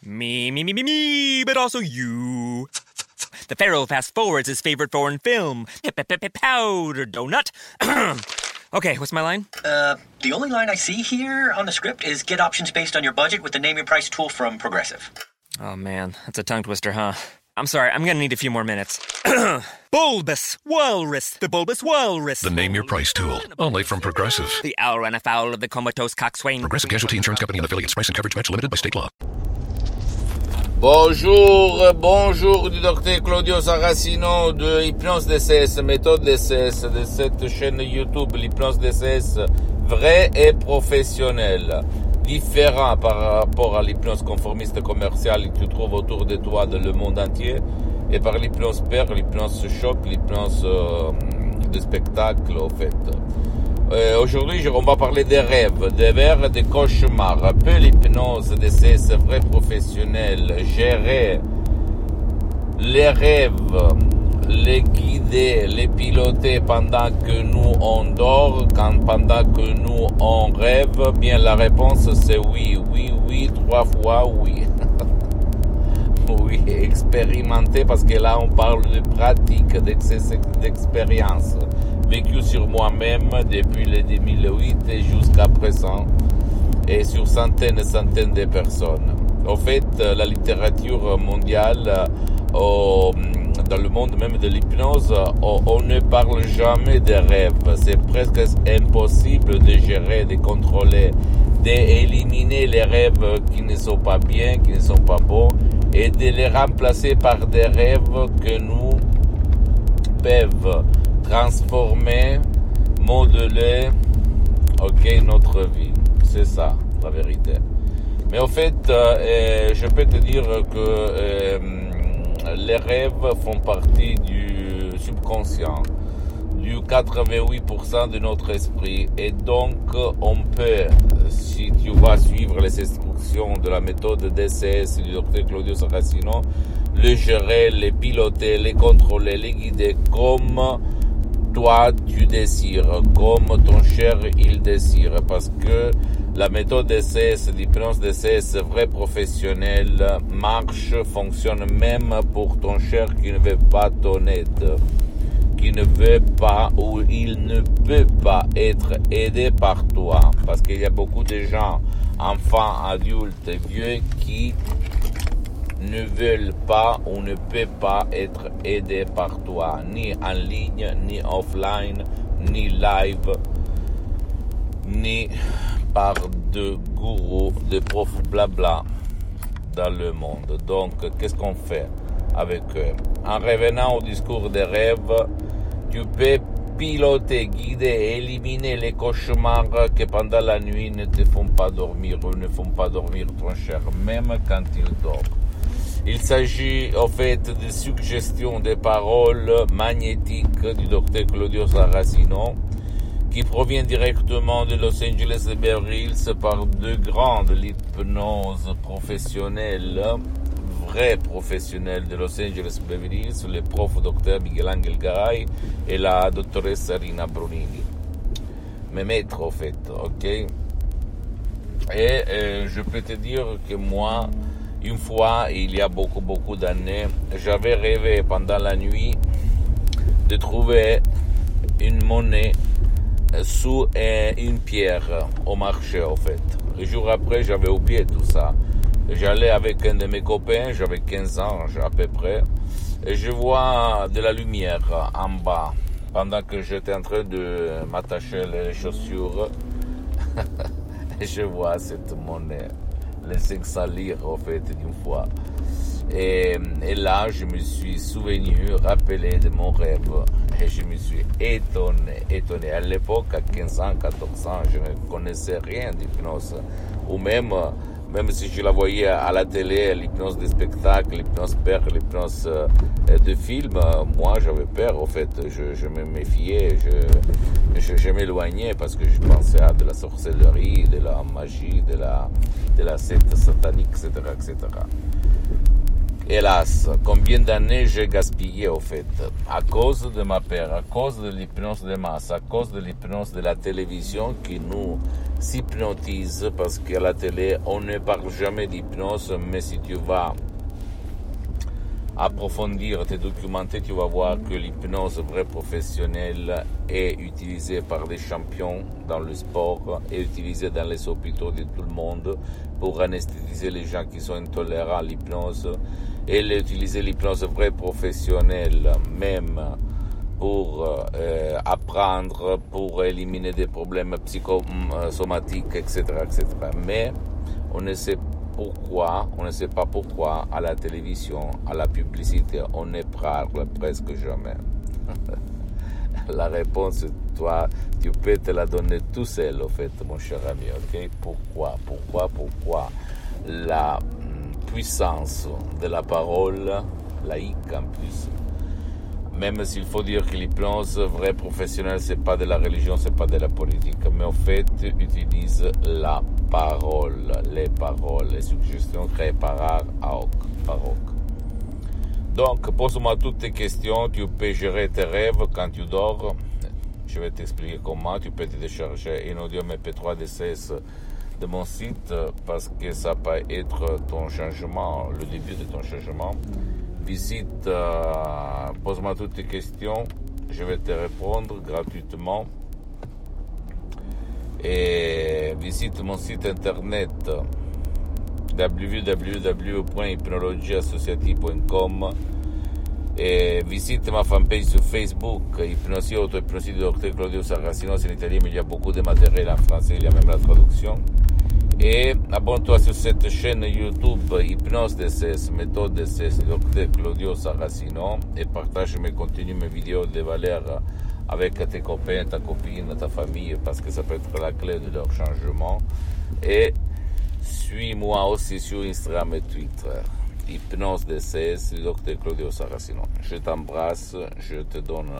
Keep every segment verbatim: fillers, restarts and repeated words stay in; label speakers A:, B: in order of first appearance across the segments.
A: Me, me, me, me, me, but also you. The Pharaoh fast forwards his favorite foreign film, Powder Donut. Okay, what's my line?
B: Uh, the only line I see here on the script is get options based on your budget with the Name Your Price tool from Progressive.
A: Oh man, that's a tongue twister, huh? I'm sorry, I'm gonna need a few more minutes. Bulbous Walrus, the Bulbous Walrus.
C: The Name Your Price tool, only from Progressive.
A: The owl ran afoul of the comatose coxswain.
C: Progressive Casualty Insurance Company and affiliates. Price and coverage match limited by state law.
D: Bonjour, bonjour du docteur Claudio Saracino de Hypnose D C S, méthode D C S, de cette chaîne YouTube, l'hypnose D C S, vrai et professionnel, différent par rapport à l'hypnose conformiste commerciale que tu trouves autour de toi dans le monde entier, et par l'hypnose père, l'hypnose choc, l'hypnose euh, de spectacle, au fait. Euh, aujourd'hui, on va parler des rêves, des rêves, des cauchemars. Un peu l'hypnose D C S vrai professionnel, gérer les rêves, les guider, les piloter pendant que nous on dort, quand pendant que nous on rêve. Bien, la réponse c'est oui, oui, oui, trois fois oui. Oui, expérimenter, parce que là on parle de pratique, d'expérience vécu sur moi-même depuis le deux mille huit et jusqu'à présent, et sur centaines et centaines de personnes. En fait, la littérature mondiale, oh, dans le monde même de l'hypnose, oh, on ne parle jamais des rêves. C'est presque impossible de gérer, de contrôler, d'éliminer les rêves qui ne sont pas bien, qui ne sont pas bons, et de les remplacer par des rêves que nous peuvent transformer, modeler, ok, notre vie. C'est ça, la vérité. Mais en fait, euh, je peux te dire que euh, les rêves font partie du subconscient, du quatre-vingt-huit pour cent de notre esprit. Et donc, on peut, si tu vas suivre les instructions de la méthode D C S du docteur Claudio Saracino, les gérer, les piloter, les contrôler, les guider comme toi tu désires, comme ton cher il désire, parce que la méthode D C S, l'hypnose D C S vrai professionnel marche, fonctionne même pour ton cher qui ne veut pas ton aide, qui ne veut pas ou il ne peut pas être aidé par toi, parce qu'il y a beaucoup de gens, enfants, adultes, vieux, qui ne veulent pas ou ne peuvent pas être aidés par toi, ni en ligne, ni offline, ni live, ni par de gourous, de profs blabla dans le monde. Donc, qu'est-ce qu'on fait avec eux? En revenant au discours des rêves, tu peux piloter, guider, éliminer les cauchemars que pendant la nuit ne te font pas dormir ou ne font pas dormir ton cher, même quand il dort. Il s'agit en fait de suggestions de paroles magnétiques du docteur Claudio Saracino qui provient directement de Los Angeles et Beverly Hills par deux grandes l'hypnose professionnelle, vrais professionnels de Los Angeles et Beverly Hills, le prof docteur Miguel Angel Garay et la dottoressa Rina Brunini. Mes maîtres en fait, ok? Et euh, je peux te dire que moi, une fois, il y a beaucoup, beaucoup d'années, j'avais rêvé pendant la nuit de trouver une monnaie sous une pierre au marché, en fait. Le jour après, j'avais oublié tout ça. J'allais avec un de mes copains, j'avais quinze ans à peu près, et je vois de la lumière en bas, pendant que j'étais en train de m'attacher les chaussures, et je vois cette monnaie. Les cinq cents lire en fait d'une fois. Et, et là, je me suis souvenu, rappelé de mon rêve. Et je me suis étonné, étonné. À l'époque, à quinze ans, quatorze ans, je ne connaissais rien d'hypnose. Ou même, même si je la voyais à la télé, l'hypnose de spectacle, l'hypnose père, l'hypnose euh, de film, moi j'avais peur en fait. Je, je me méfiais, je, je, je m'éloignais parce que je pensais à de la sorcellerie, de la magie, de la, de la secte satanique, et cetera, et cetera. Hélas, combien d'années j'ai gaspillé au fait, à cause de ma peur, à cause de l'hypnose de masse, à cause de l'hypnose de la télévision qui nous s'hypnotise parce qu'à la télé, on ne parle jamais d'hypnose, mais si tu vas approfondir, te documenter, tu vas voir que l'hypnose vraie professionnelle est utilisée par des champions dans le sport, est utilisée dans les hôpitaux de tout le monde pour anesthésier les gens qui sont intolérants à l'hypnose. Elle est utilisée l'hypnose vraie professionnelle, même pour euh, apprendre, pour éliminer des problèmes psychosomatiques, et cetera, et cetera. Mais on ne sait pourquoi, on ne sait pas pourquoi à la télévision, à la publicité, on ne parle presque jamais. La réponse, toi, tu peux te la donner tout seul, en fait, mon cher ami, ok? Pourquoi, pourquoi, pourquoi la puissance de la parole, laïque en plus, même s'il faut dire que l'hypnose vraie professionnelle, c'est pas de la religion, c'est pas de la politique, mais en fait, utilise la parole, les paroles, les suggestions créées par art ad hoc. Donc, pose-moi toutes tes questions, tu peux gérer tes rêves quand tu dors. Je vais t'expliquer comment. Tu peux te décharger un audio M P trois D C S de mon site parce que ça peut être ton changement, le début de ton changement. Visite, euh, pose-moi toutes tes questions, je vais te répondre gratuitement. Et visite mon site internet w w w point hypnologie associative point com et visite ma fanpage sur Facebook, Hypnosie Auto-Hypnosie du docteur Claudio Saracino, c'est en italien, mais il y a beaucoup de matériel en français, il y a même la traduction. Et abonne-toi sur cette chaîne YouTube Hypnose D C S, méthode D C S, docteur Claudio Saracino, et partage mes contenus, mes vidéos de valeur avec tes copains, ta copine, ta famille, parce que ça peut être la clé de leur changement. Et suis-moi aussi sur Instagram et Twitter, Hypnose D C S, docteur Claudio Saracino. Je t'embrasse, je te donne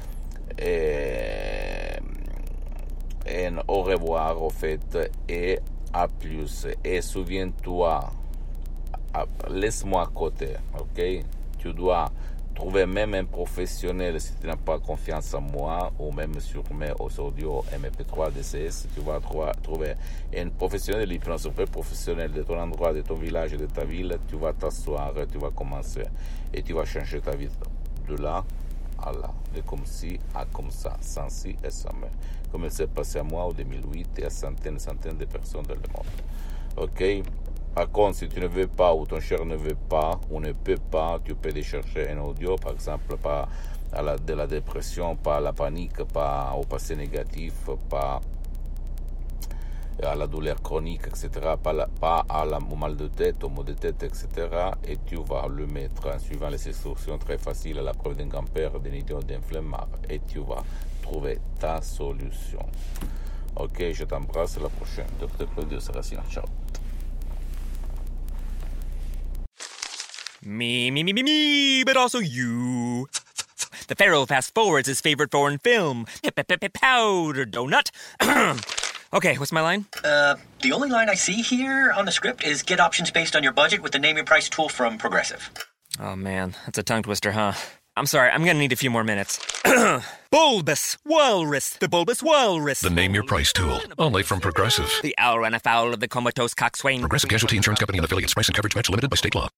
D: et, et au revoir au fait, et à plus. Et souviens-toi, laisse-moi à côté, ok? Tu dois trouver même un professionnel si tu n'as pas confiance en moi, ou même sur mes audios M P trois D C S, tu vas trouver, trouver un professionnel de l'hypnose, un professionnel de ton endroit, de ton village, de ta ville. Tu vas t'asseoir, tu vas commencer et tu vas changer ta vie de là à là, de comme ci à comme ça, sans ci et sans mais, comme il s'est passé à moi en deux mille huit et à centaines et centaines de personnes dans le monde. Ok? Par contre, si tu ne veux pas ou ton cher ne veut pas ou ne peut pas, tu peux chercher un audio, par exemple, pas à la, de la dépression, pas à la panique, pas au passé négatif, pas à la douleur chronique, et cetera, pas, la, pas à la, au mal de tête, au maux de tête, et cetera. Et tu vas le mettre en suivant les instructions très faciles à la preuve d'un grand-père, d'un idiot, d'un flemmard, et tu vas trouver ta solution. Ok, je t'embrasse, à la prochaine. docteur Claudio Saracino, ciao.
A: Me, me, me, me, me, but also you. The Pharaoh fast forwards his favorite foreign film, Powder Donut. Okay, what's my line?
B: Uh, the only line I see here on the script is get options based on your budget with the Name Your Price tool from Progressive.
A: Oh man, that's a tongue twister, huh? I'm sorry, I'm gonna need a few more minutes. Bulbous Walrus, the Bulbous Walrus.
C: The Name Your Price tool, only from Progressive.
A: The owl ran afoul of the comatose coxswain.
C: Progressive Casualty Insurance Company and affiliates. Price and coverage match limited by state law.